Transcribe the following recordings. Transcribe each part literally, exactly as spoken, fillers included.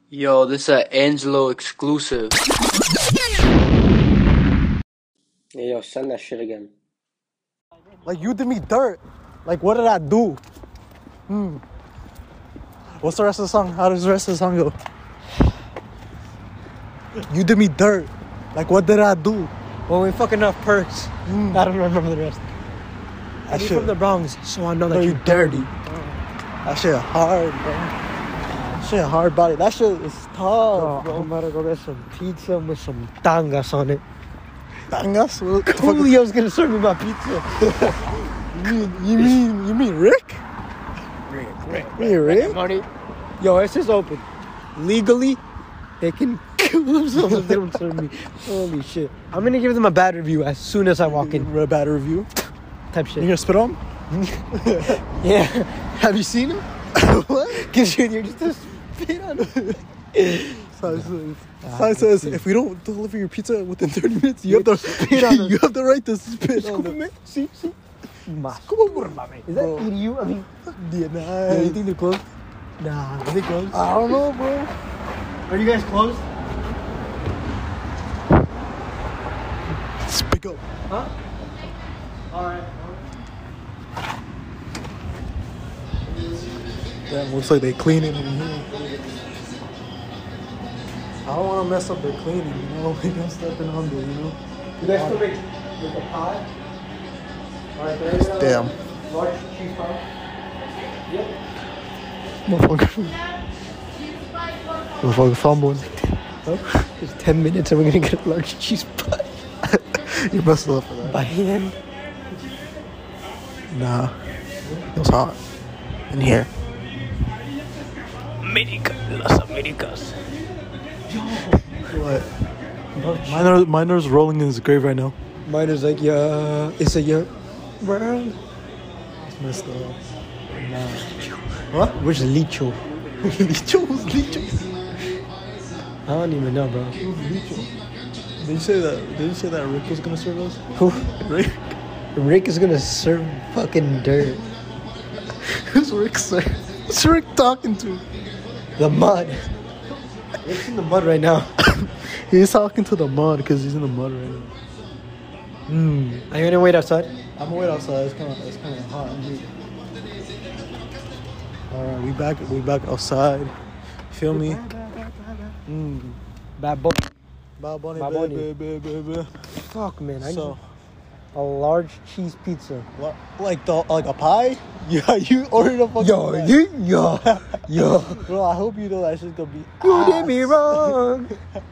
Yo, this is a Angelo exclusive. Yeah, yo, send that shit again. Like, you did me dirt. Like, what did I do? Hmm. What's the rest of the song? How does the rest of the song go? You did me dirt. Like, what did I do? Well, we fucking enough perks. Mm. I don't remember the rest. That I'm shit, from the Bronx, so I know that no, you're you dirty. That shit hard, bro. That shit hard body. That shit is tough, Bro, bro. I'm about to go get some pizza with some tangas on it. Tangas? What the fuck? Julio's gonna serve me my pizza. You mean, you mean, you mean Rick? Rick, Rick, You mean Rick? Money. Yo, it's just open. Legally, they can kill themselves if they don't serve me. Holy shit. I'm gonna give them a bad review as soon as I walk in. A bad review. Type You shit. gonna spit on him? Yeah. Have you seen him? What? Cause you're, you're just a spit on it. Sign says, sign says if we don't deliver your pizza within thirty minutes, you have the Spit on it. you have the right to spit on it. Escúpeme. Sí, sí. Más. Is that Bro. E D U? I mean, Yeah, yo, nah. you think they're closed? Nah. Are they closed? I don't know, bro. Are you guys closed? Speak up. Huh? Alright. Damn, looks like they cleaning in here. I don't want to mess up their cleaning, you know? We don't step in under, you know? You guys still make with a pie? Alright, there's a Damn. large cheese pie. Yep. Motherfucker. Motherfucker fumbled. It's ten minutes and we're gonna get a large cheese pie. You messed up for that. By hand. Nah. It was hot. In here. America, Las Americas. What? Minor, Minor's rolling in his grave right now. Mine is like, yeah, it's a yeah. World. It's messed up. Nah. What? Where's Licho? Licho? Who's Licho? I don't even know, bro. Who's Licho? Did you say that? Did you say that Rick was gonna serve us? Who? Rick? Rick is gonna serve fucking dirt. Who's Rick, sir? Who's Rick talking to? The mud. Rick's in the mud right now. He's talking to the mud because he's in the mud right now. Hmm. Are you gonna wait outside? I'm gonna wait outside. It's kind of it's kind of hot in here. All right, we back. We back outside. Feel me? Hmm. Bad boy. Bad Bunny, Bad Bunny. baby, baby, baby. Fuck, man. I So, need a large cheese pizza. what, like the like a pie? Yeah, you ordered a fucking Yo, pie. you, yo, yo. Bro, I hope you know that shit's gonna be. You did me ass. wrong.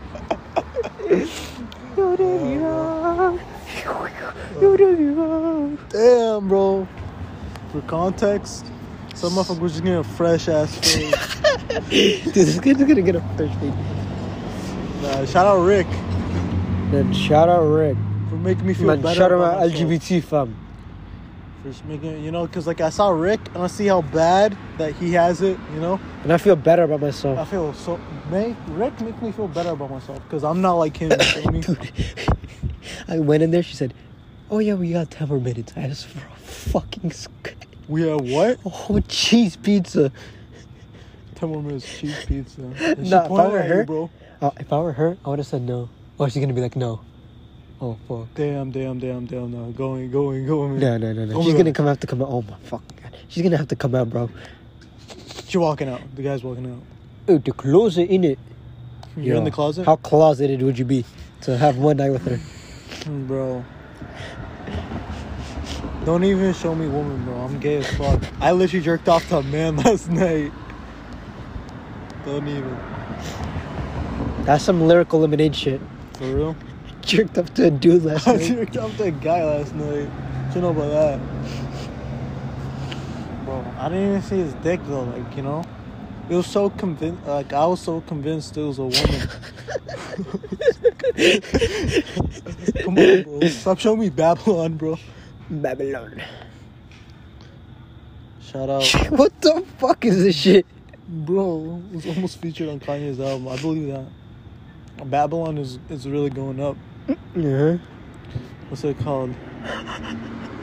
You did me wrong. You did me wrong. Damn, bro. For context, some motherfuckers just getting a fresh ass face. Dude, this kid's gonna get a fresh feed. Nah, shout out Rick Then shout out Rick. for making me feel Man, better. shout out about my myself. L G B T fam. For just making, you know, because like I saw Rick and I see how bad that he has it, you know. And I feel better about I myself. feel so. Make Rick make me feel better about myself because I'm not like him. You feel me? Dude, I went in there, she said, oh yeah, we got ten more minutes. I asked for a fucking sc- We have what? a whole cheese pizza. Ten more minutes cheese pizza. And she Nah, if I pointed were at you, her- bro. Uh, if I were her, I would have said no. Or she's gonna be like, no. Oh, fuck. Damn, damn, damn, damn. No, going, going, going. No, no, no, no. Oh She's my gonna God. come have to come out. Oh my fuck. God. She's gonna have to come out, bro. She walking out. The guy's walking out. Oh, the closet in it. You're in Yo, the closet, How closeted would you be to have one night with her? Mm, bro. Don't even show me woman, bro. I'm gay as fuck. I literally jerked off to a man last night. Don't even. That's some lyrical lemonade shit. For real? Jerked up to a dude last I night. jerked off to a guy last night. What you know about that? Bro, I didn't even see his dick though, like, you know? It was so convinced, like, I was so convinced it was a woman. Come on, bro. Stop showing me Babylon, bro. Babylon. Shout out. What the fuck is this shit? Bro, it was almost featured on Kanye's album. I believe that. Babylon is, is really going up. Yeah. What's it called?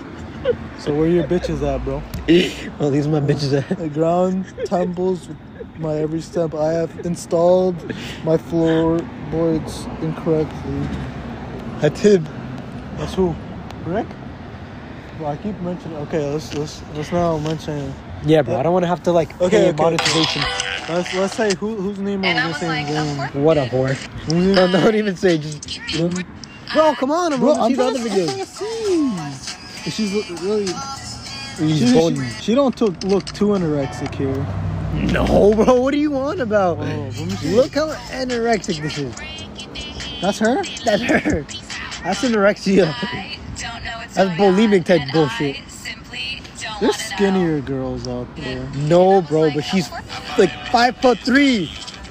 So where your bitches at, bro? Well, these are my bitches at. The ground temples with my every step. I have installed my floorboards incorrectly. I did. That's who? Rick? Well, I keep mentioning. Okay, let's let's let's now mention. Yeah, bro. I don't want to have to like Okay, pay okay. monetization. Let's let's say who whose name And I are we was saying? like, of course. What a whore. No, don't even say. Just, bro, come on. I'm Bro, going to I'm see the trying other to videos. see. She's lo- really. He's She, bony. she, she don't took, look too anorexic here. No, bro. What are you on about? Oh, let me see. Look how anorexic this is. That's her. That's her. That's anorexia. I don't know what's That's going bulimic on, type and bullshit. I simply don't There's wanna skinnier girls out there. No, bro. But she's like five foot three.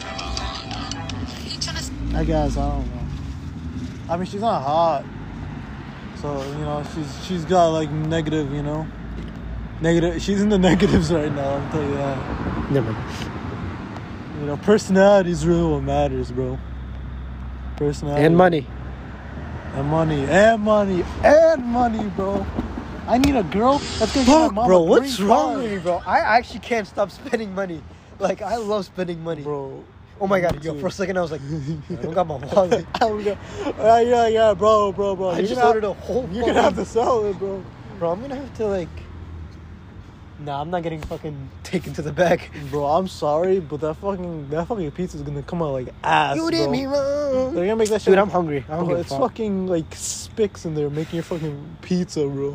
I guess I don't know. I mean, she's not hot, so you know she's she's got like negative, you know, negative. She's in the negatives right now. I'll tell you that. Never mind. You know, personality is really what matters, bro. Personality And money. and money and money and money, bro. I need a girl that's gonna give my Fuck, mama bro. What's green wrong card. with me, bro? I actually can't stop spending money. Like, I love spending money. bro? Oh my god, yo, Dude. for a second I was like, I don't got my wallet. Oh, yeah, yeah, yeah, yeah, bro, bro, bro. I You're just gonna ordered have- a whole You're gonna have fucking- to sell it, bro. Bro, I'm gonna have to like. Nah, I'm not getting fucking taken to the back. Bro, I'm sorry, but that fucking that fucking pizza is gonna come out like ass, You bro. did me wrong. They're gonna make that shit. Dude, I'm hungry. I don't Bro, give a it's fuck. fucking like Spix in there making your fucking pizza, bro.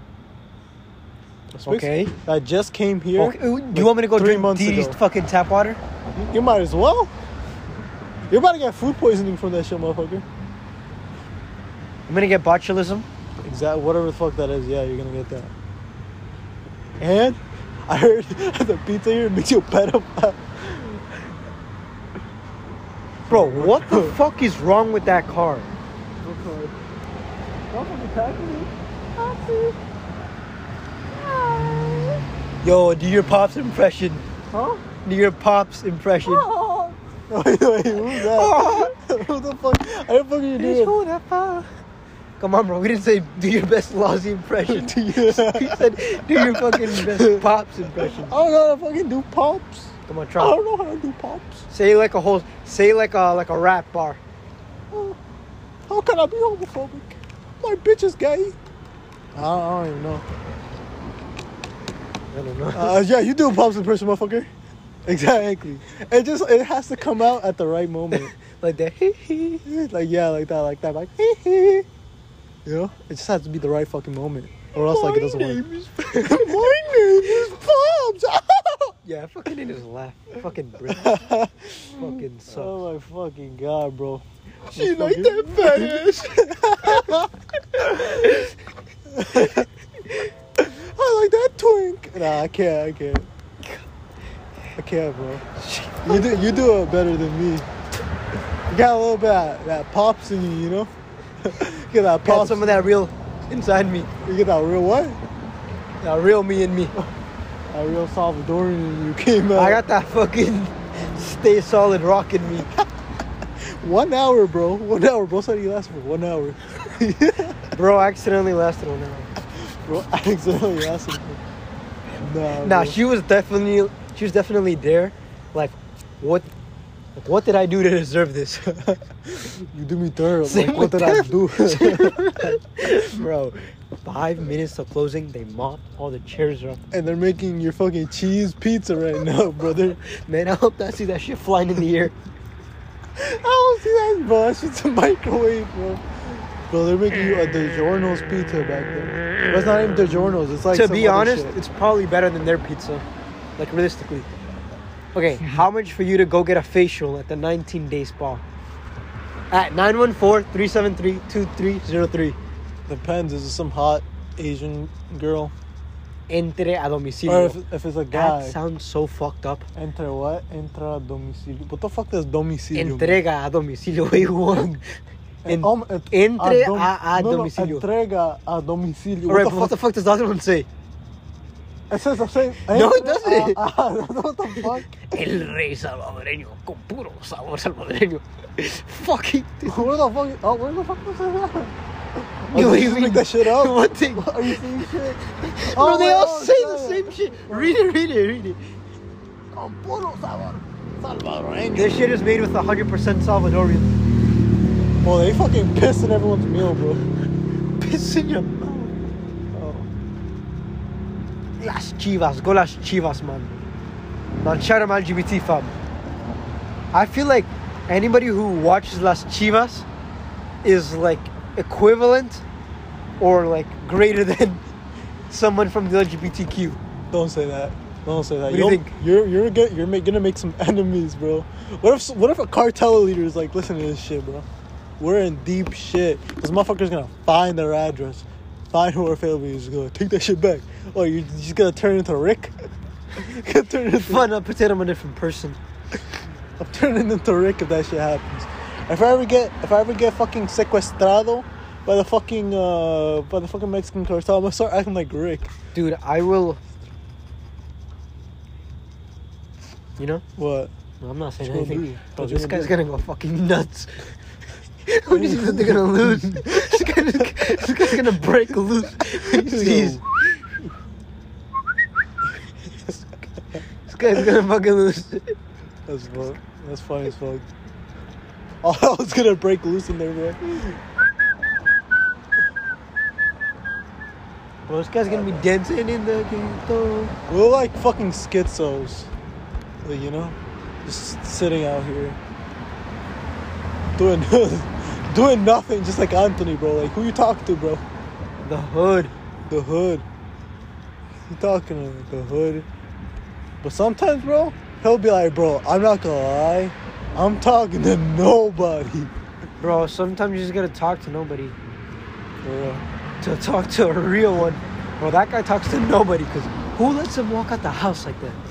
Spix Okay. that just came here. Okay, do you want me to go three drink months Dee Dee's ago. fucking tap water? You might as well. You're about to get food poisoning from that shit, motherfucker. I'm gonna get botulism. Exactly, whatever the fuck that is. Yeah, you're gonna get that. And I heard the pizza here makes you a pedophile. Bro, what the fuck is wrong with that car? Yo, do your Pops impression. Huh? Do your Pops impression. Wait, wait, who's that? Who the fuck? How the fuck are you doing? Come on, bro. We didn't say do your best Lozzie impression. We said do your fucking best Pops impression. I don't know how to fucking do pops. Come on, I try. don't know how to do pops. Say like a whole. Say like a like a rap bar. How can I be homophobic? My bitch is gay. I don't, I don't even know. I don't know. Uh, yeah, you do a pops impression, motherfucker. Exactly. It just it has to come out at the right moment. Like that. Like yeah, like that, like that, like hee hee. You know, it just has to be the right fucking moment, or else like it doesn't work. is. My name is Pops. Yeah, fucking in his laugh. Fucking British. Fucking sucks. Oh my fucking god, bro. She like that fat ass. I like that twink. Nah, I can't. I can't. I can't, bro. You do. You do it better than me. You got a little bit of that pops in you, you know. You get that Got pops. some of that real inside me. You get that real what? That real me in me. That real Salvadorian in you came out. I got that fucking stay solid rock in me. One hour, bro. One hour. Bro said he lasted for one hour. Bro, I accidentally lasted one hour. Bro, I accidentally lasted for. Nah. Nah, bro. she was definitely she was definitely there. Like, what like, what did I do to deserve this? You do me third. Same Like, what with did I them. do? Bro, five minutes to closing, they mopped all the chairs up. And they're making your fucking cheese pizza right now, brother. Man, I hope I see that shit flying in the air. I don't see that, bro. That shit's a microwave, bro. Bro, they're making you a DiGiorno's pizza back there. But it's not even DiGiorno's. It's like To some be other honest, shit. it's probably better than their pizza. Like, realistically. Okay, how much for you to go get a facial at the nineteen day spa? At nine one four, three seven three, two three zero three. Depends. Is it some hot Asian girl? Entre a Or domicilio. if, if it's a guy. That sounds so fucked up. Entre what? Entra a domicilio. What the fuck does domicilio mean? Entrega a domicilio. What you want? En- Um, et- entre dom- a- a no, no, domicilio. entrega a domicilio. Alright, What but what the the fuck does the other one say? fuck? It says the same. No, it Entre doesn't. a- a- what the fuck? El rey salvadoreño con puro sabor salvadoreño. Fucking. Where the fuck? Oh, where the fuck was that? Oh, Yo, did you you just make mean- that shit up? What thing? Are you saying shit? Bro, they my all God, say shit. the same shit. Read it, read it, read it. Con puro sabor salvadoreño. This shit is made with one hundred percent Salvadorian. Well, they fucking piss in everyone's meal, bro. Piss in your mouth. Oh. Las Chivas. Go Las Chivas, man. Man, shout out my L G B T fam. I feel like anybody who watches Las Chivas is like equivalent or like greater than someone from the L G B T Q. Don't say that. Don't say that. What do you You'll- think? You're you're get, you're ma- gonna make some enemies, bro. What if what if a cartel leader is like, listen to this shit, bro? We're in deep shit. This motherfucker's gonna find their address, find who our family is, gonna take that shit back. Oh, you're just gonna turn into Rick? You're gonna turn into Fun, I'll pretend I'm a different person. I'm turning into Rick if that shit happens. If I ever get if I ever get fucking sequestrado by the fucking uh by the fucking Mexican cartel, I'm gonna start acting like Rick. Dude, I will. You know? What? No, I'm not saying What you gonna anything. do? Bro, What you this gonna guy's do? gonna go fucking nuts. Who do you think that they're gonna lose? This, guy, this guy's gonna break loose. When he sees- This guy's gonna fucking lose. That's fuck. That's funny as fuck. Oh, I was gonna break loose in there, bro. Bro, this guy's gonna be dancing in the ghetto. We're like fucking schizos. Like, you know? Just sitting out here. Doing doing nothing, just like Anthony, bro. Like, who you talking to, bro? The hood. The hood. You talking to the hood. But sometimes, bro, he'll be like, bro, I'm not gonna lie. I'm talking to nobody. Bro, sometimes you just gotta talk to nobody. For real. To talk to a real one. Bro, that guy talks to nobody, because who lets him walk out the house like that?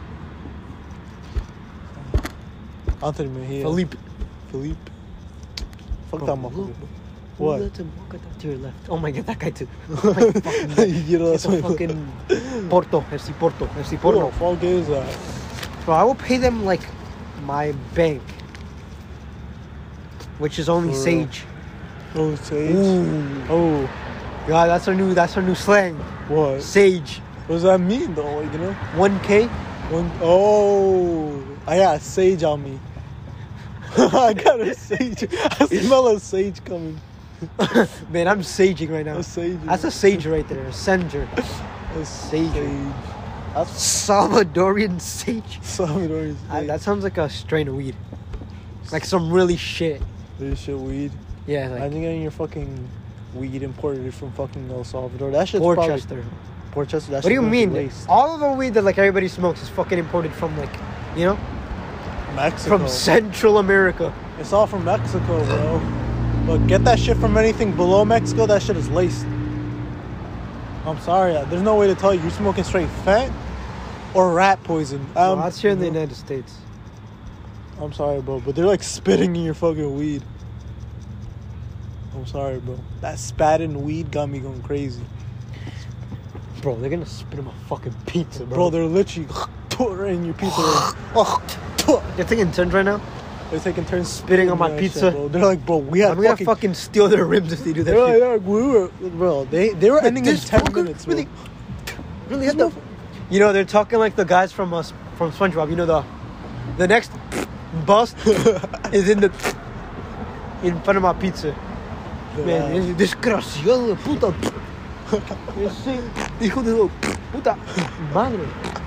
Anthony Mejia. Felipe. Philippe. Fuck Bro, that look, motherfucker. bro. What? Who lets him walk out that to your left? Oh my god, that guy too. Oh my fucking god. You know, It's that's a what fucking Porto, F C Porto, F C What the Porto. fuck is that? Bro, I will pay them like my bank, which is only For real. Sage. Oh, Sage. Ooh. Oh, Yeah, that's our new, that's our new slang. what? Sage. What does that mean, though? Like, you know? one K. One, oh, I got sage on me. I got a sage. I smell a sage coming. Man, I'm saging right now. A sage. That's a sage right there. A senger. a sage. sage. That's Salvadorian sage. Salvadorian I, sage. that sounds like a strain of weed. Like some really shit. This shit weed. Yeah, like Imagine getting your fucking weed imported from fucking El Salvador. That shit's probably... Portchester. Portchester. That What do you shit's mean? laced. All of the weed that like everybody smokes is fucking imported from like, you know, Mexico. from Central America. It's all from Mexico, bro. But get that shit from anything below Mexico, that shit is laced. I'm sorry, there's no way to tell you. You're smoking straight fat or rat poison. No, Um, that's here in the United States. I'm sorry, bro, but they're like spitting in your fucking weed. I'm sorry, bro. That spat in weed got me going crazy. Bro, they're gonna spit in my fucking pizza, bro. Bro, they're literally right in your pizza. You're taking turns right now? They're taking turns Spitting on my that pizza. shit, bro. They're like, bro, we had I'm gonna fucking... fucking steal their ribs if they do that They're like, shit. they're like, we were... Bro, they, they were ending in This ten fucker minutes, bro. really, really had the... You know, they're talking like the guys from us from SpongeBob. You know, the the next bust is in the in front of my pizza. Man, es desgraciado de puta. Ese hijo de la puta madre.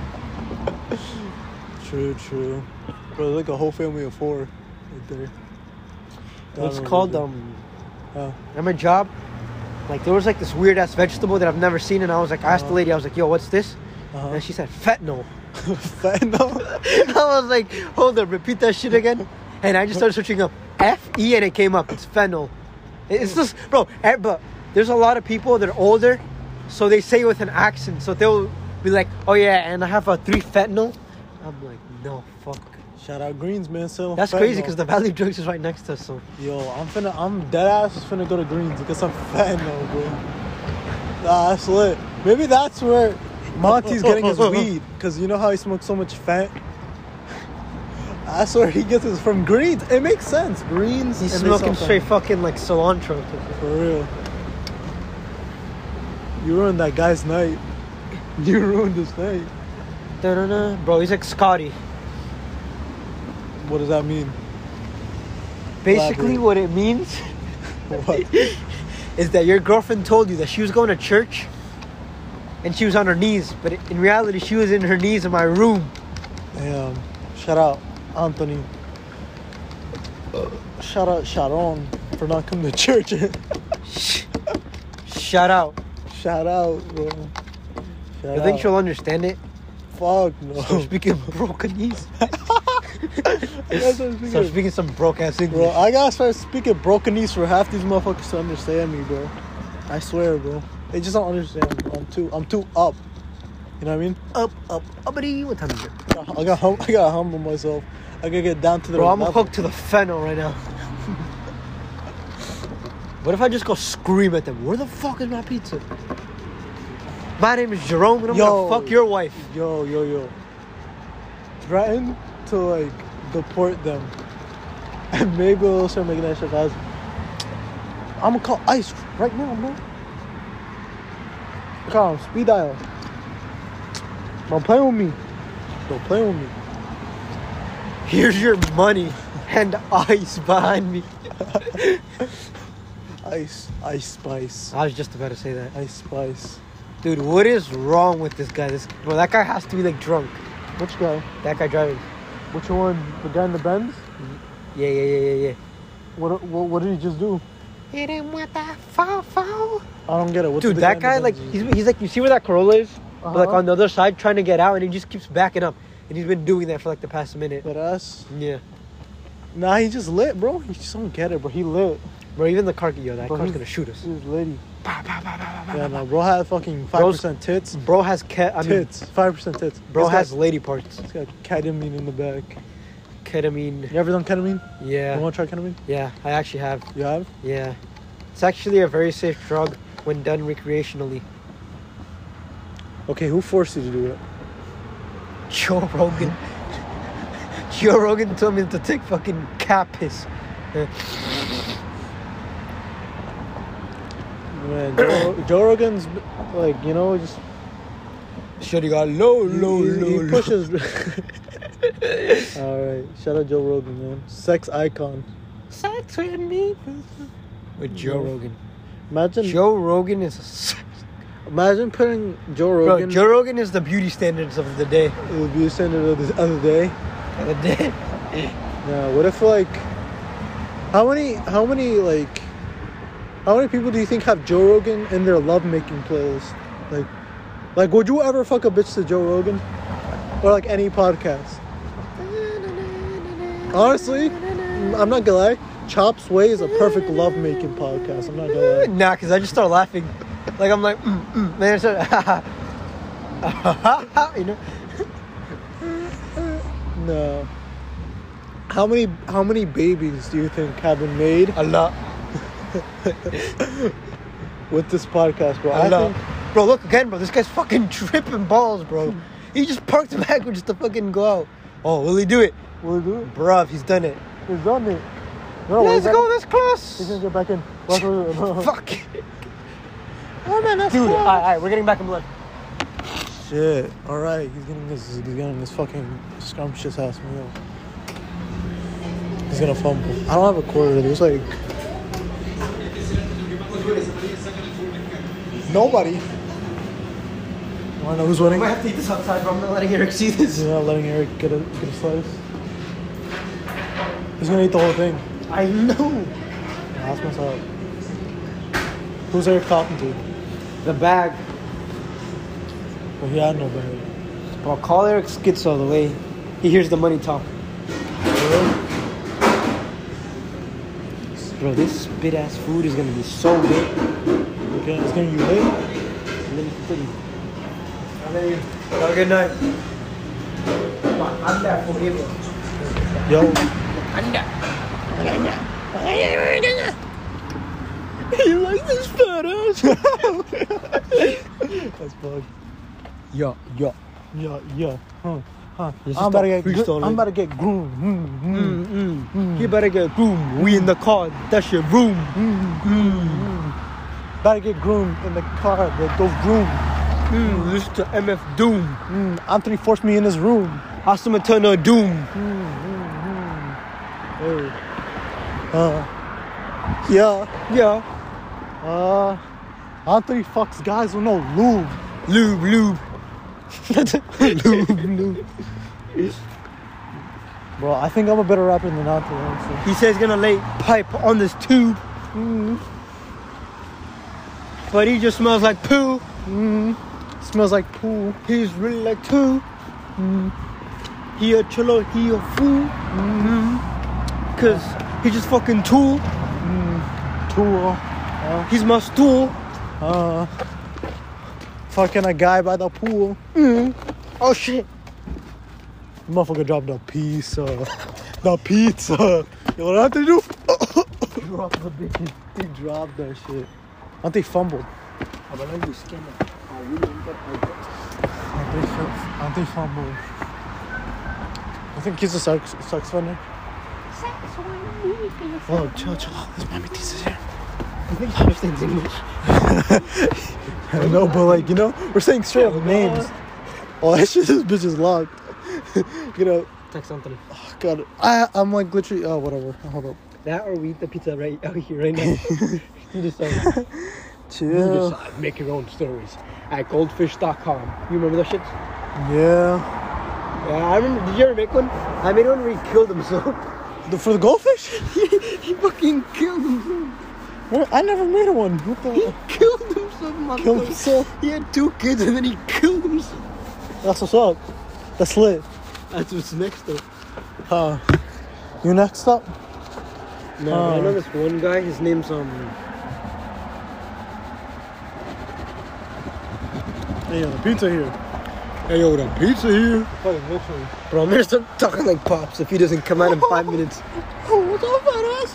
True, true. Bro, they're like a whole family of four right there. It's Donovan called Richie. um. Oh. At my job, like there was like this weird ass vegetable that I've never seen, and I was like, I asked the lady, I was like, "Yo, what's this?" Uh-huh. And she said, "Fentanyl." Fentanyl? I was like, "Hold up, repeat that shit again." And I just started searching up F E, and it came up. It's fentanyl. It's just, bro. eh, But there's a lot of people that are older, so they say it with an accent. So they'll be like, "Oh yeah, and I have a three fentanyl." I'm like, "No, fuck." Shout out Greens, man. Selling That's fentanyl. crazy because the Valley Drugs is right next to us. So Yo, I'm finna, I'm dead ass just finna go to Greens and get some fentanyl, bro. Nah, that's lit. Maybe that's where Monty's getting his weed. Because you know how he smokes so much fat? That's where he gets his from Greens. It makes sense. Greens. he's and they smoking sell straight fentanyl. fucking like cilantro. For real. You ruined that guy's night. You ruined his night. Da-da-da. Bro, he's like Scotty. What does that mean? Basically, Elaborate. what it means What? is that your girlfriend told you that she was going to church and she was on her knees, but in reality, she was in her knees in my room. Damn. Shout out Anthony. Shout out Sharon for not coming to church. Shout out. Shout out, bro. Shout You think out. she'll understand it? Fuck no. Stop speaking broken knees. That's what I'm Stop speaking. speaking some broke ass Bro, English. I gotta start speaking brokenese for half these motherfuckers to understand me, bro. I swear, bro. They just don't understand. I'm too, I'm too up. You know what I mean? Up, up, uppity. What time is it? I got, hum- I gotta humble myself. I gotta get down to the Bro, I'm level. hooked to the fennel right now. What if I just go scream at them? Where the fuck is my pizza? My name is Jerome and I'm Yo. gonna fuck your wife. Yo, yo, yo. Threaten to like deport them, and maybe we'll start making that shit fast. I'm gonna call ICE right now, bro. Call him, speed dial. Don't play with me. Don't play with me. Here's your money and ice behind me. Ice, ice spice, I was just about to say that. ice spice. Dude, what is wrong with this guy? This bro, that guy has to be like drunk. Which guy? That guy driving. Which one? The guy in the Benz? Yeah, yeah, yeah, yeah, yeah. What? What, what did he just do? Hit him with that foul, foul. I don't get it. What's Dude, the that guy guy, in the like, Benz he's, do? he's like, you see where that Corolla is? But, like, Uh-huh. on the other side, trying to get out, and he just keeps backing up. And he's been doing that for, like, the past minute. That ass. Yeah. Nah, he just lit, bro. He just don't get it, bro. He lit. Bro, even the car, yo, that Bro, car's he's- gonna shoot us. He was litty. Bah, bah, bah, bah, bah, bah, Yeah, bah. no, bro had fucking five percent tits. Bro has, ke- I mean, Tits. five percent tits. bro He's has got, lady parts. he's got ketamine in the back. Ketamine. You ever done ketamine? You Yeah. want to try ketamine? Yeah, I actually have. You have? Yeah. It's actually a very safe drug when done recreationally. Okay, who forced you to do it? Joe Rogan. Joe Rogan told me to take fucking cat piss. Uh, Man, Joe, Joe Rogan's like, you know, just Shorty got low, low, he, low, he low. pushes. All right, shout out Joe Rogan, man, sex icon. Sex with me. With Joe No. Rogan. Imagine, Joe Rogan is a s- imagine putting Joe bro. Rogan. Joe Rogan is the beauty standards of the day. It would be a standard of this other day. Of the day. Yeah. What if like, how many, how many like, how many people do you think have Joe Rogan in their lovemaking playlist? Like, like, would you ever fuck a bitch to Joe Rogan, or like any podcast? Honestly, I'm not gonna lie. Chop's Way is a perfect lovemaking podcast. I'm not gonna lie. Nah, cause I just start laughing. Like I'm like, mm, mm. Then I start, you know. No. How many, how many babies do you think have been made A lot. with this podcast, bro? A I lot. think. Bro, look again, bro. This guy's fucking tripping balls, bro. He just parked backwards to fucking go out. Oh, will he do it? Will he do it? Bruv, he's done it. He's done it. No, Let's he's go gonna- this He's close. gonna get back in. Fuck. Fuck. Oh man, that's Dude, cool. alright, alright, we're getting back in blood. Shit. All right, he's getting this. He's getting this fucking scrumptious ass meal. He's gonna fumble. I don't have a quarter. There's like nobody. Wanna know who's I winning? might have to eat this outside, bro. I'm not letting Eric see this. You're not letting Eric get a get a slice. He's gonna eat the whole thing. I know. Nah, that's messed up. Who's Eric talking to? The bag. But he had no bag. Bro, call Eric Schizo the way he hears the money talk. Bro, this spit ass food is gonna be so good. Okay, it's gonna be late. And then you can have a good night. Anda for him. Yo. Anda. You like this fat ass? That's bug. Yo, yo. Yeah, yeah. Huh. Huh. Let's I'm about to just get. start Gr- freestyling. I'm about to get groomed. Mm, mm, Mm, mm. You better get room. We in the car. That's your room. mm, mm. About to get groomed in the car. The, those groomed. Mm, listen to M F Doom. Mm, Anthony forced me in his room. Awesome Eternal Doom. Hey. Uh, yeah. Yeah. Uh, Anthony fucks guys with no lube. Lube, lube. lube, lube. Bro, I think I'm a better rapper than Anthony, honestly. He says he's gonna lay pipe on this tube. Mm. But he just smells like poo. Mm. Smells like poo. He's really like two. Mm. He a cholo, he a fool. Mm. Cause he just fucking tool. Mm. Tool. Uh, He's my stool. uh, fucking a guy by the pool. Mm. Oh shit. Motherfucker dropped the pizza. The pizza. Yo, what I have to do? Drop the bitch. He dropped that shit. I think fumbled. Auntie Auntie fumbled. I think he's a sucks, sucks funny. Oh, chill, chill. This mommy teaches here. I think he understands English. I know, but like, you know, we're saying straight up names. Oh, that shit, this bitch is locked. You know, Text Anthony. oh, God. I, I'm like literally, oh, whatever. Hold up. That or we eat the pizza right out here right now. You decide. You Chill. decide. Make your own stories at goldfish dot com. You remember those shits? Yeah. Yeah, I remember. Did you ever make one? I made one where he killed himself. The, for the goldfish? he, he fucking killed himself. What? I never made one. What the? He killed himself, motherfucker. Killed himself? He had two kids and then he killed himself. That's what's up. That's lit. That's what's next though. Huh. You next up? No, Oh. I know this one guy. His name's um. Hey, yo, the pizza here. Hey yo, the pizza here. Fucking literally. Bro, I'm gonna start talking like Pops if he doesn't come out in five minutes. Oh, what's up, fat ass?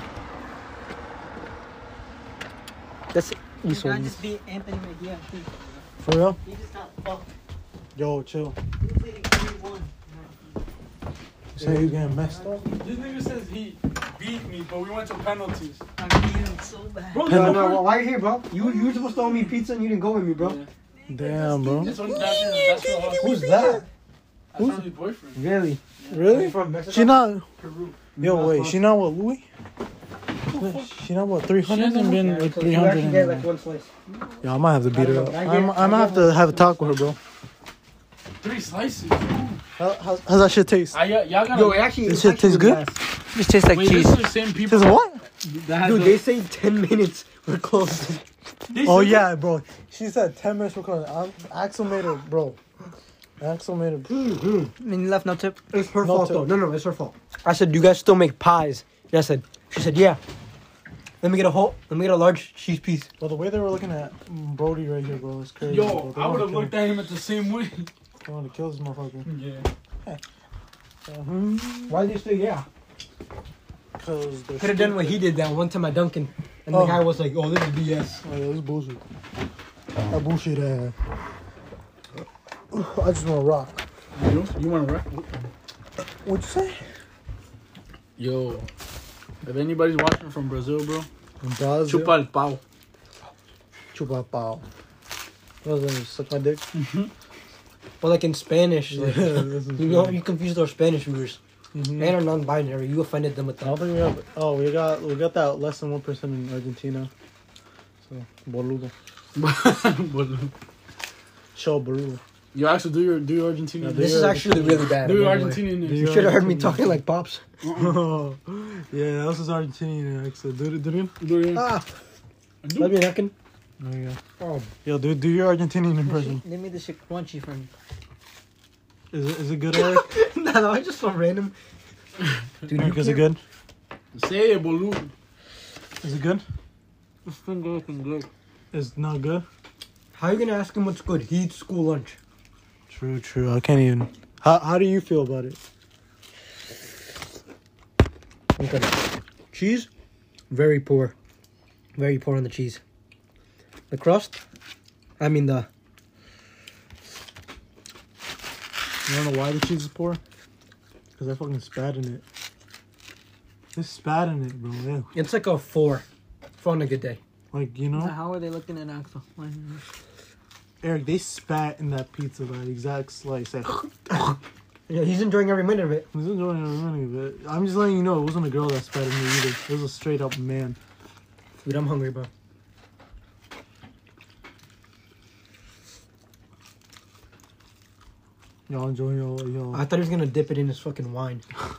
That's this You one. just beat Anthony McGee. For real? He just got fucked. Yo, chill. He was leading three one. You say you getting messed up? This nigga says he beat me, but we went to penalties. I beat him so bad. Bro, No, no, well, why are you here, bro? You you were supposed to owe me pizza and you didn't go with me, bro. Yeah. Damn, bro. That's what, that's, that's what Who's that? That's Charlie's boyfriend. Really? Really? From Mexico? She not. Peru. Yo, wait. She not what, Louis? She not what, three hundred and been like So three you hundred. actually get like one slice. Yeah, I might have to beat her up. I I'm, get- I'm gonna have to have a talk with her, bro. Three slices. How, how's, how's that shit taste? I, y'all gotta. Yo, it actually. This it shit tastes actually good? lasts. This tastes like wait, cheese. this is the same people. Tastes what? That had Dude, the- they say ten minutes. We're close. they Oh said- yeah, bro. She said ten minutes recording. I'm Axel made her, bro. Axel made her. Mm-hmm. And you left no tip. It's her No fault tip. though. No, no, it's her fault. I said, "Do you guys still make pies?" And I said, "She said, yeah." Let me get a whole. Let me get a large cheese piece. Well, the way they were looking at Brody right here, bro, is crazy. Yo, bro. They I would wanna have kill looked at him at the same way. him. They want to kill this motherfucker. Yeah. Why did you say yeah? Cause Could have done what he did that one time at Dunkin', and Oh. the guy was like, "Oh, this is B S." Oh, yeah, this is bullshit. That bullshit ass. I just want to rock. You, you want to rap? What'd you say? Yo, if anybody's watching from Brazil, bro, Brazil. chupa el pau. Chupa pao. What was that? Suck my dick? Or like in Spanish, like, This is you know, you confused our Spanish viewers. Mhm. And our non-binary, you offended them with I don't that. think we have. Oh, we got we got that less than one percent in Argentina. So boludo. Show boludo. You actually do your do your Argentinian. Yeah, This You're is actually really bad. do your by the way. Argentinian. Do names. You your- should have heard me talking like Pops. Oh, yeah, that was his Argentinian accent. Do it, do it. Do your- Ah, do- let me reckon. There you go. Oh, Yo, do do your Argentinian impression. They made this shit crunchy for me. Is it is it good, Eric? no, no, I just so random. Dude, Eric, is it good? Say it, boludo. Is it good? It's been good, it's been good. It's not good. How you gonna ask him what's good? He eats school lunch. True, true. I can't even. How how do you feel about it? Okay. Cheese, very poor. Very poor on the cheese. The crust, I mean the. You wanna know why the cheese is poor? Cause I fucking spat in it. There's spat in it, bro. Yeah. It's like a four, four on a good day. Like you So know, how are they looking at Axel? Why- Eric, they spat in that pizza, that exact slice. Like, Yeah, he's enjoying every minute of it. I was enjoying every minute of it. I'm just letting you know, it wasn't a girl that spat in me either. It was a straight up man. Dude, I'm hungry, bro. Y'all enjoying your, your I thought he was gonna dip it in his fucking wine.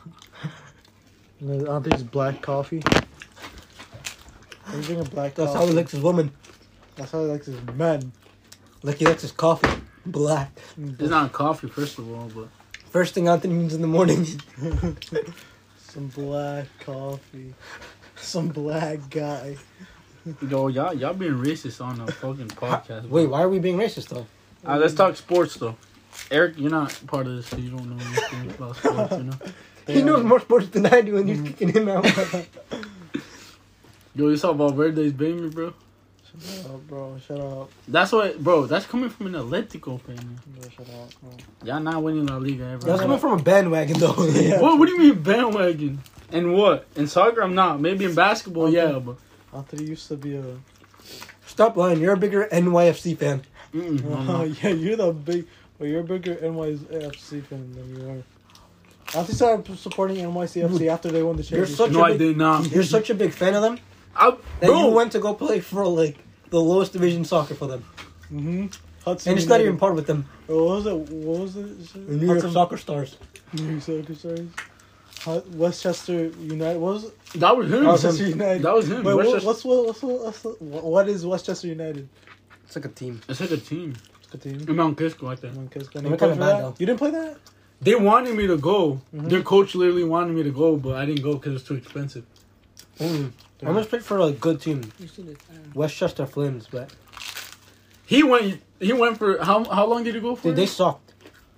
I don't think it's black coffee. I'm drinking black That's coffee. how he likes his woman. That's how he likes his men. Like he likes his coffee. Black. It's not coffee, first of all, but First thing Anthony means in the morning. Some black coffee. Some black guy. yo, y'all y'all being racist on a fucking podcast. bro. Wait, why are we being racist though? Alright, let's talk sports though. Eric, you're not part of this, so you don't know anything about sports, you know. He knows more sports than I do, and you're kicking him out. Yo, you saw Valverde's baby, bro. Shut up, bro. Shut up. That's what, bro. That's coming from an Atletico fan. Bro, shut up, bro. Y'all not winning La Liga ever. That's coming from a bandwagon though. Yeah. What? What do you mean bandwagon? And what? In soccer, I'm not. Maybe in basketball, yeah, but Anthony used to be a. Stop lying. You're a bigger N Y F C fan. mm-mm, no, Oh, no. yeah, you're the big. Well, you're a bigger N Y C F C fan than you are. Anthony started supporting N Y C F C after they won the You're championship. such no, a I big, did not. You're such a big fan of them I, that bro, you went to go play for like the lowest division soccer for them, Mm-hmm. Hudson and it's not United. even part with them. What was it? What was it? The New York Hudson- Soccer Stars. New York Soccer Stars. Hu- Westchester United. What was it? that was him. That was him. Westchester United. That was him. Wait, what, Westchester- what's, what, what's, what, what's the- what is Westchester United? It's like a team. It's like a team. It's a team. In Mount Kisco, I think. Come on, kids. Can They're you play kinda for bad, that? though. You didn't play that? They wanted me to go. Mhm. Their coach literally wanted me to go, but I didn't go because it was too expensive. Mm. I almost played for a good team, Westchester Flames, but He went. He went for how? How long did he go for? dude, they sucked.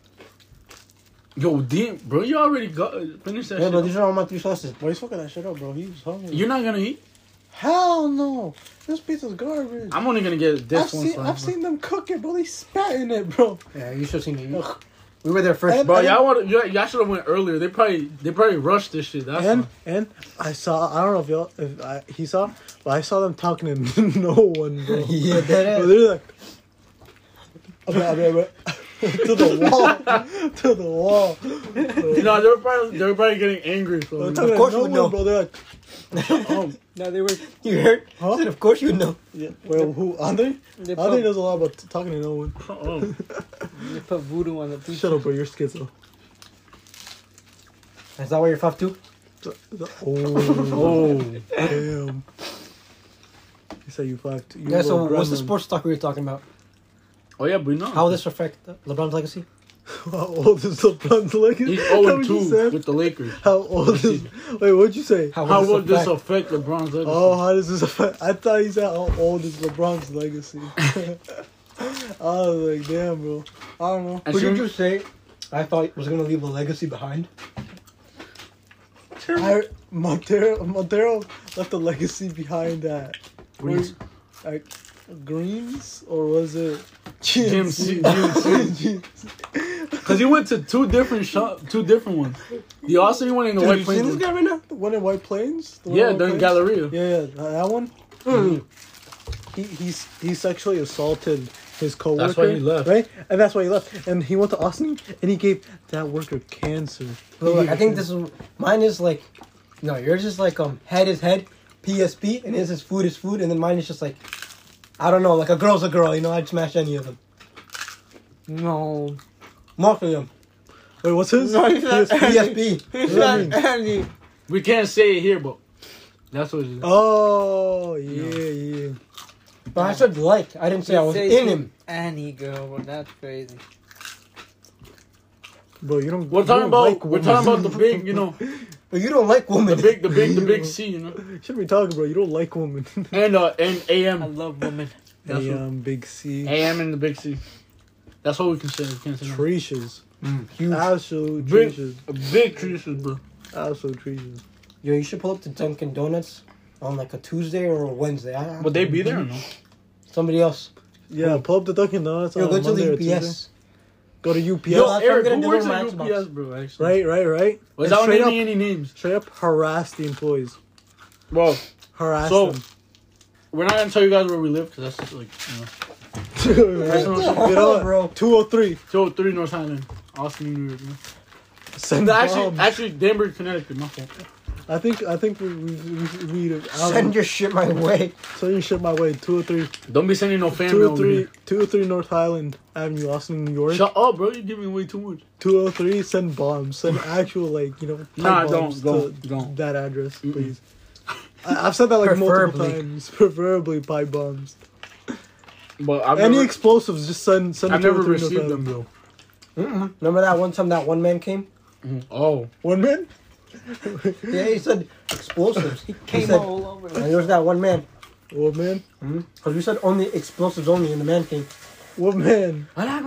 Yo, damn, bro, you already got finished that Yeah, shit. but these are all my three sauces. Why you fucking that shit up, bro? He was hungry. You're not gonna eat. Hell no. This pizza's garbage. I'm only gonna get this I've one. seen, slice, I've bro. seen them cook it, bro. They spat in it, bro. Yeah, you should have seen me. We were there first. And- Bro, y'all want y'all, y'all should have went earlier. They probably they probably rushed this shit. That's And why. and I saw, I don't know if y'all, if I, he saw, but I saw them talking to no one, bro. Yeah, that Bro, is. they're like, okay, okay, okay. to the wall, to the wall. You know, they were probably they were probably getting angry. So, They're you talking know. to course no you would one, know. bro. They're like, oh, No, they were. You heard? Huh? I said, of course you would know. yeah. Well, who? Andre? They Andre put, knows a lot about t- talking to no one. Oh. they put voodoo on the pizza. Shut up, bro. You're schizo. Is that why you're five two? Oh, Oh, damn. He said you five two. You Yeah. So little what's the gremlin. sports talk we were talking about? oh yeah, but no. How will this affect LeBron's legacy? How old is LeBron's legacy? He's How zero would and you two say? with the Lakers. How old is? Wait, what'd you say? How, How will will this affect? affect LeBron's legacy? Oh, how does this affect? I thought he said how old is LeBron's legacy. I was like, damn, bro. I don't know. And Who she- did you say? I thought was gonna leave a legacy behind. I, Montero, Montero left a legacy behind that. Greens. Like, Greens? Or was it G M C. G M C. Because he went to two different shop, two different ones. He also he went in the Dude, White you seen Plains. this guy right now? The one in White Plains? The one Yeah, in White during Plains? Galleria. Yeah, yeah, that one? Mm. He he's he sexually assaulted his coworker. That's why he left. Right? And that's why he left. And he went to Austin and he gave that worker cancer. Look, look, I think this is mine is like no, yours is like um head is head, P S P, and his is food is food, and then mine is just like I don't know, like a girl's a girl, you know, I'd smash any of them. No. More for them. Wait, what's his? No, he's not- P S P. P S P. He's What does that not mean? Andy. We can't say it here, but that's what it is. Oh, yeah, yeah. But I said like. I didn't say I was Say in to him. Annie girl, bro. That's crazy. Bro, you don't. We're you talking don't about like we're women. talking about the big, you know, But you don't like the women. big, the big, the big C, you know, Should be talking, bro. You don't like women. and uh and A I M, love women. That's Hey, what- um, big C. A M and the big C. That's what we can say. We can't say no. Treaches. Mm, huge. Absolute Big, treaches. big treaches, bro. Absolute treaches. Yo, you should pull up to Dunkin' Donuts on like a Tuesday or a Wednesday. I, I, Would they be there or no? Somebody else. Yeah, pull up the Dunkin' Donuts Yo, on go to Monday the or U P S. Tuesday. Go to U P S. Yo, Yo, that's what I'm Eric, gonna who do works with at my U P S, Xbox. bro? Actually, Right, right, right. Without straight naming up, any names, straight up harass the employees. bro. Harass So- them. We're not gonna tell you guys where we live because that's just like, you know. Personal shit. You know what, bro. two oh three. two oh three North Island, Austin, New York. Man. Send No, actually, bombs. actually, Danbury, Connecticut. My fault. I think I think we we we, we Send your shit my way. send your shit my way. Two oh three. Don't be sending no fan Two mail oh over three. here. Two oh three North Highland Avenue, Austin, New York. Shut up, bro. You're giving away too much. Two oh three. Send bombs. Send actual like you know. pipe Nah, don't, bombs don't, to don't. that address, Mm-mm. please. I, I've said that like multiple Preferably. times. Preferably pipe bombs. But I've Any never, explosives, just send send. I've it to never oh three North received them Highland. though. Mm-mm. Remember that one time that one man came? Oh, One man. Yeah, he said explosives. He Came said, all over. and there was that one man. One man. Because we said only explosives only, and the man came. One man.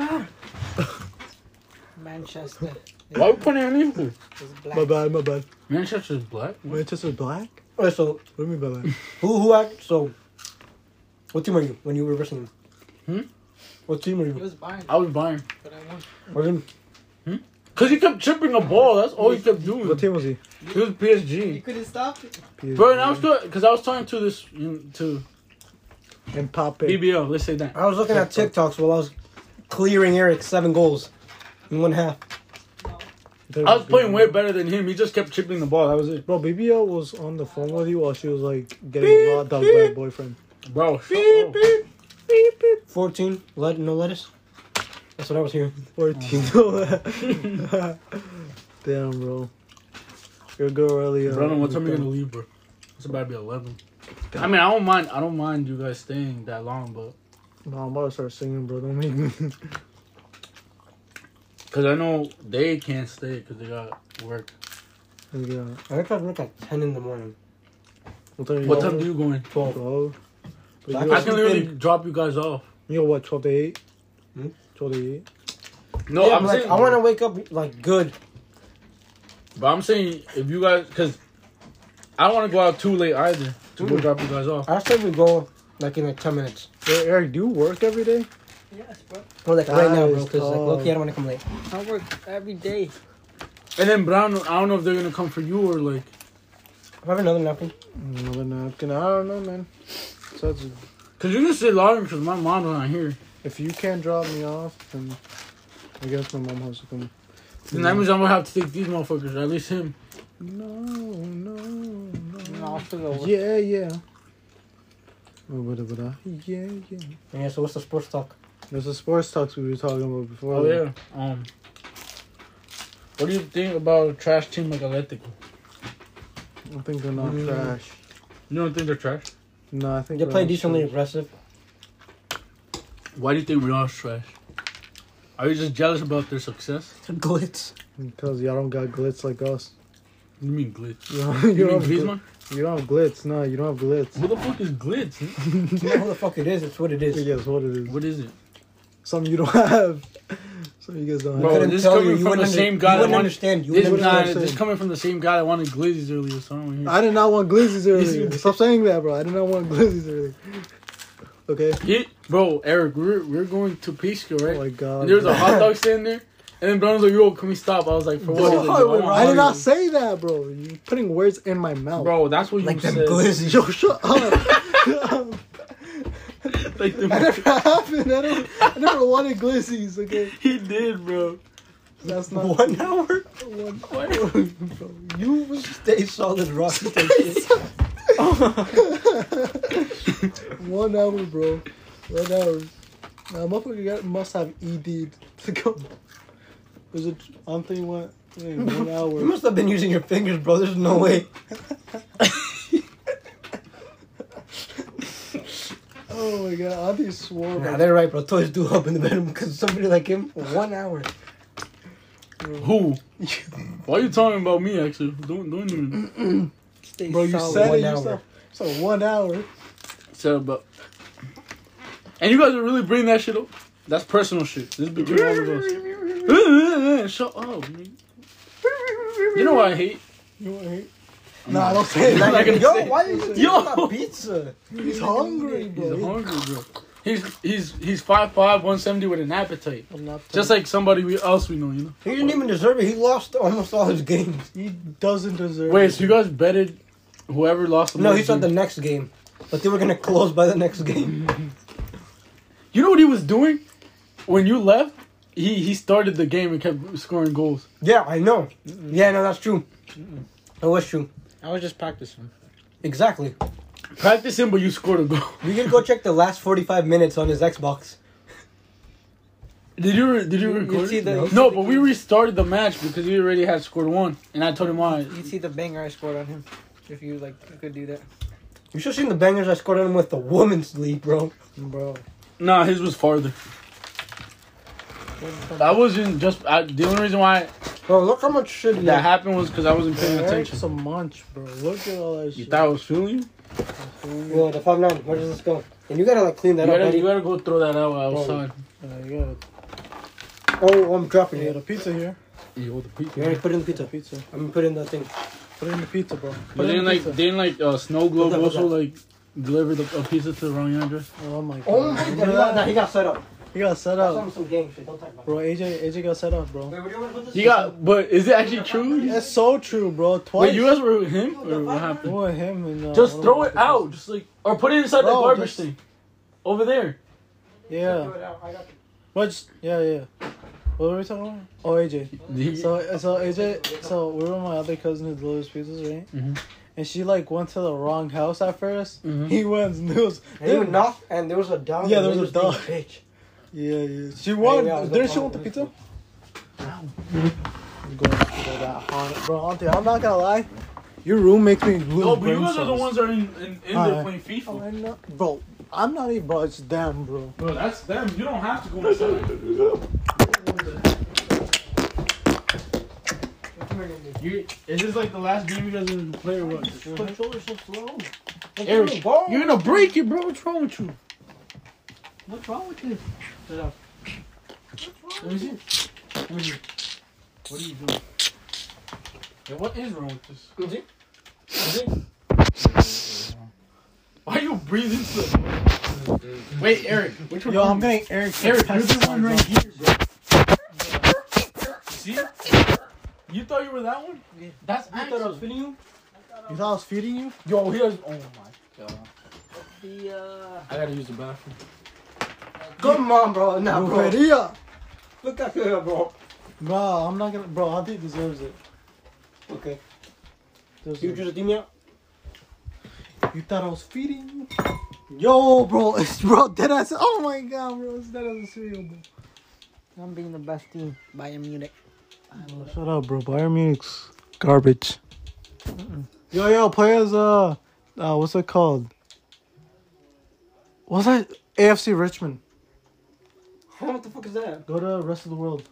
Manchester. why are we putting on you? It's black. My bad. My bad. Manchester's black. Manchester black. Alright, so What do you mean by that? who who act? So, what team are you when you were wrestling? Hmm? What team are He you? was buying, I was buying. but I won. Was him? Cause he kept chipping a ball. That's all he kept doing. What team was he? He was P S You G. couldn't stop it. Bro, and I was good because I was talking to this to And Pape. B B L. Let's say that. I was looking at TikToks while I was clearing Eric seven goals in one half. I was playing way better than him. He just kept chipping the ball. That was it. Bro, B B L was on the phone with you while she was like getting locked up by her boyfriend. Bro, shut up. Fourteen. Let no lettuce. That's what I was hearing. fourteen. Damn, bro. You're a girl earlier. Brandon, what time are you gonna leave, bro? It's about to be eleven. I mean, I don't mind. I don't mind you guys staying that long, but No, I'm about to start singing, bro. Don't make me. because I know they can't stay because they got work. Yeah. I tried to work at ten in the morning. What time, What time do you go in? Twelve. twelve? But I you I got, can literally drop you guys off. you got what, twelve to eight? Hmm? twelve to eight? No, Yeah, I'm but, like, saying. I want to wake up like good. But I'm saying if you guys, because I don't want to go out too late either to go drop you guys off. I said we go like in like ten minutes. Hey, Eric, do you work every day? Yes, bro. Or like right now, bro. Nice, Because like, dog. low-key, I don't want to come late. I work every day. And then Brown, I don't know if they're gonna come for you or like. I have another napkin. Another napkin. I don't know, man. So that's, Cause you can sit longer because my mom's not here. if you can't drop me off, then I guess my mom has to come. Then that means I'm gonna have to take these motherfuckers, or at least him. No, no, And no. I'll still go. Yeah, yeah. Oh, what, what, what, yeah, yeah. Yeah. So what's the sports talk? There's the sports talks we were talking about before. Oh yeah. Um. What do you think about a trash team like Atletico? I think they're not Mm. trash. You don't think they're trash? No, I think They they're play not decently trash. Mm. aggressive. Why do you think Real's trash? Are you just jealous about their success? Glitz. Because y'all don't got glitz like us. What do you mean glitz? You don't, You, you, mean don't have, gl- Griezmann? you don't have glitz. No, you don't have glitz. Who the fuck is glitz? huh? You know who the fuck it is? It's what it is. Yes, what it is. What is it? Something you don't have. Something you guys don't Bro, have. couldn't this is tell coming you. You from the wouldn't same under- guy you that wouldn't wanted. understand. You This, wouldn't what nah, I'm this saying. coming from the same guy that wanted glizzies earlier, so I don't hear. I did not want glizzies you earlier. did. Stop saying that, bro. I did not want glizzies earlier. Okay? He, bro, Eric, we're we're going to Pisco, right? Oh my god. And there was bro. a hot dog stand there, and then Brown was like, "Yo, can we stop?" I was like, "For what?" He's like, Bro, "Yo, I want I did hot not dogs." say that, bro. You're putting words in my mouth. Bro, that's what like you them said. glizzies. Yo, shut up. Like the That never happened. I, don't, I never wanted glizzies, okay? he did, bro. That's not One hour. one hour, bro. You Stay solid, rock. Stay shit. one hour, bro. One hour. Now, motherfucker got, must have E D'd to go. Was it Anthony went in one You hour? must have been using your fingers, bro. There's no way. Oh my god, Anthony swore. Nah, by- they're right, bro. Toys do up in the bedroom because somebody like him, one hour. Who? Why are you talking about me? Actually, don't don't even Stay Bro, you solid. said one it hour. yourself. So one hour. say about. And you guys are really bringing that shit up. That's personal shit. This is between all of us. Shut up, man. You know what I hate? You want to hate? Nah, don't say I'm that. not gonna Yo, say- why are you Yo. talking about pizza? He's hungry, bro. He's hungry, bro. He's he's he's five five, one seventy with an appetite. I'm not Just like somebody we, else we know, you know. He didn't even deserve it. He lost almost all his games. he doesn't deserve Wait, it. so you guys betted whoever lost the No, most he said the games? next game, but they were gonna close by the next game. You know what he was doing when you left? He he started the game and kept scoring goals. Yeah, I know. Yeah, no, that's true. It was true. I was just practicing. Exactly. Practicing, but you scored a goal. We can go check the last forty-five minutes on his Xbox. Did you re- did you You- you record? see it? the- no, you see no the but we game. restarted the match because he already had scored one, and I told him why. You see the banger I scored on him. If you like, you could do that. You should have seen the bangers I scored on him with the women's league, bro. Bro. Nah, his was farther. That wasn't just I, the only reason why Bro, look how much shit he that had. happened was because I wasn't paying Eric's attention. a munch, bro. Look at all that You shit. thought I was feeling you? Yo, the five nine. Where does this go? And you gotta like clean You that up, gotta, buddy. you gotta go throw that out outside. Uh, you got Oh, I'm dropping you got it. a pizza here. You the You already put it in the pizza. Pizza. I'm gonna put it in the thing. Put it in the pizza, bro. But Put it in then the like pizza. didn't like uh, Snow Globe What's that, what's also like delivered a, a pizza to the wrong address. Oh my god. Oh my god, he got, nah, he got set up. He got set That's up. on some gang shit. Don't talk about it. Bro, A J A J got set up, bro. Wait, where do you want to put this? He got, but is it actually true? That's so true, bro. Twice. Wait, you guys were with him or what happened? With him and uh, Just one of throw my it out, just like or put it inside Bro, the garbage just- thing, over there. Yeah. But just, yeah, yeah. What were we talking about? Oh, A J. So, so A J, so we were with my other cousin who delivers pizzas, right? Mhm. And she like went to the wrong house at 1st Mhm. He went and there was, And you knocked, and there was a dog. Yeah, and there he was a dog. being a Bitch. yeah, yeah. She won. yeah, I was Didn't gonna she want the follow pizza? I'm going to that haunted, bro. Auntie, I'm not gonna lie. Your room makes me lose No, but you brain guys are the cells. ones that are in, in, in there Alright. playing Oh, FIFA. I know. Bro, I'm not even, bro. It's them, bro. Bro, that's them. You don't have to go inside. You, is this like the last game you guys are gonna play or what? Controller's so slow. Eric, you're gonna break it, bro. What's wrong with you? What's wrong with you? Let me see. Let me see. What are you doing? Yeah, what is wrong with this? Let me Is it? Why are you breathing so? Wait, Eric. Which one? Yo, I'm are getting Eric. you? Eric, you're the one right here, bro. See? You thought you were that one? That's I thought I was actually. feeding you. You thought I was feeding you? Yo, he has. Oh my god. The uh, I gotta use the bathroom. Come on, bro. Nah, bro. Brujeria. Look at here, bro. Bro, I'm not gonna. Bro, Auntie deserves it. Okay. Deserves You it. just me out. You thought I was feeding you? Yo, bro, it's bro, dead ass. Oh my god, bro, it's dead ass cereal, bro. I'm being the best team. Bayern Munich. Oh, shut up, bro. Bayern Munich's garbage. Yo, yo, play as uh, uh, what's it called? What's that? A F C Richmond. What the fuck is that? Go to the rest of the world.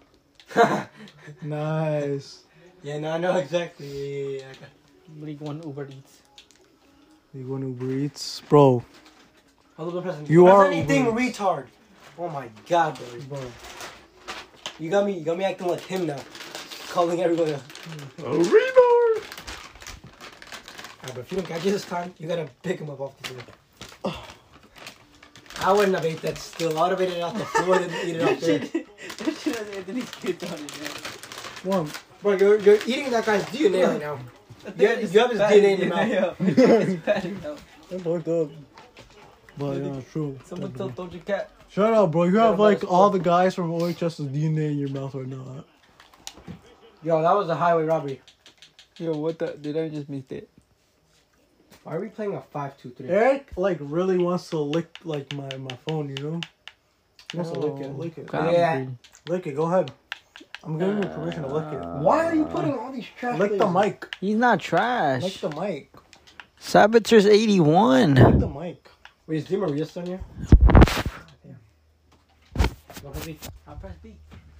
Nice. Yeah, no, I know exactly. Yeah, yeah, yeah. I got- League One Uber Eats. You going to Uber Eats, bro? Hold up, President. You are anything Uber retard. Oh my god, bro. Bro, You got me. You got me acting like him now. Calling everyone. Else. A rebound. Alright, but if you don't catch it this time, you gotta pick him up off the floor. I wouldn't have ate that still. I would have ate it off the floor and eat it off there. That shit has Anthony spit on it, man. one. Bro, you're, you're eating that guy's D N A right now. You have, you have his D N A in your mouth. It's bad now. That's fucked up. But yeah, true. Someone told Doja Cat. Shut up, bro. You have about like this all the guys from O H S's D N A in your mouth right now. Yo, that was a highway robbery. Yo, what the? Did I just miss it? Why are we playing a five two three? Eric like really wants to lick like my, my phone, you know? He wants to lick it, lick it. Yeah. Lick it, go ahead. I'm giving you permission to lick it. Why are you putting all these trash Lick the things? mic. He's not Lick trash. the mic. Saboteur's eighty-one. Lick the mic. Wait, is Di Maria still in here? What was he? I'll press B.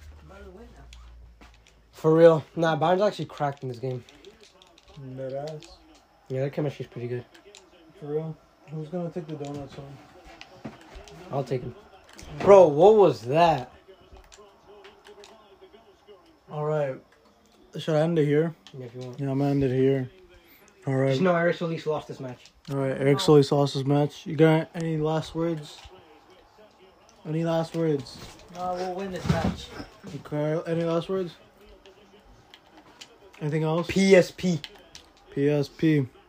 For real. Nah, Bayern's actually cracked in this game. That ass. Yeah, their chemistry's pretty good. For real. Who's gonna take the donuts home? I'll take him. Bro, what was that? Alright. Should I end it here? Yeah, if you want. Yeah, I'm gonna end it here. Alright. Just know Eric Solis lost this match. Alright, Eric Solis Sauce's match. You got any last words? Any last words? No, we'll win this match. Okay, any last words? Anything else? P S P. P S P.